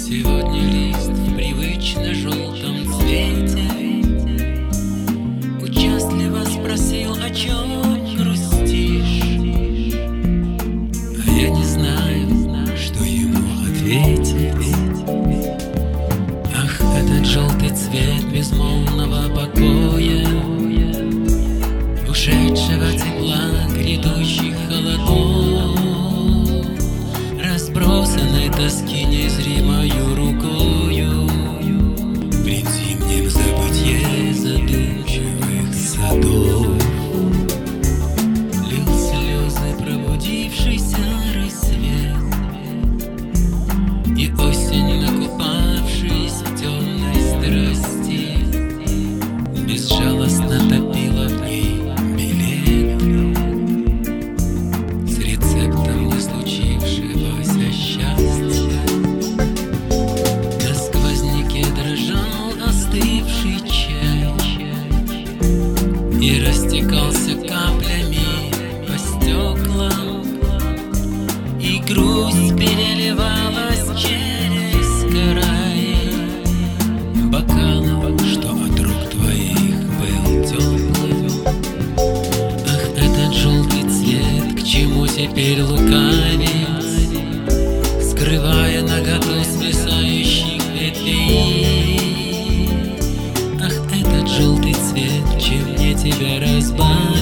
Сегодня лист в привычно желтом цвете участливо спросил, о чем грустишь. А я не знаю, что ему ответить. Ах, этот желтый цвет безмолвного покоя, ушедшего тепла, грядущих холодов, разбросанной тоски незримою рукою, пред зимним забытье задумчивых садов. Лил слезы пробудившийся рассвет, и осень, накупавшись в темной страсти, безжалостно топила в ней билет с рецептом не случившегося счастья. На сквозняке дрожал остывший чай и растекался каплями по стеклам, и грусть переливалась через край бокалов, что от рук твоих был теплым. Ах, этот желтый цвет, к чему теперь лукавить, скрывая наготу свисающих ветвей? Ах, этот желтый цвет, чем мне тебя разбавить?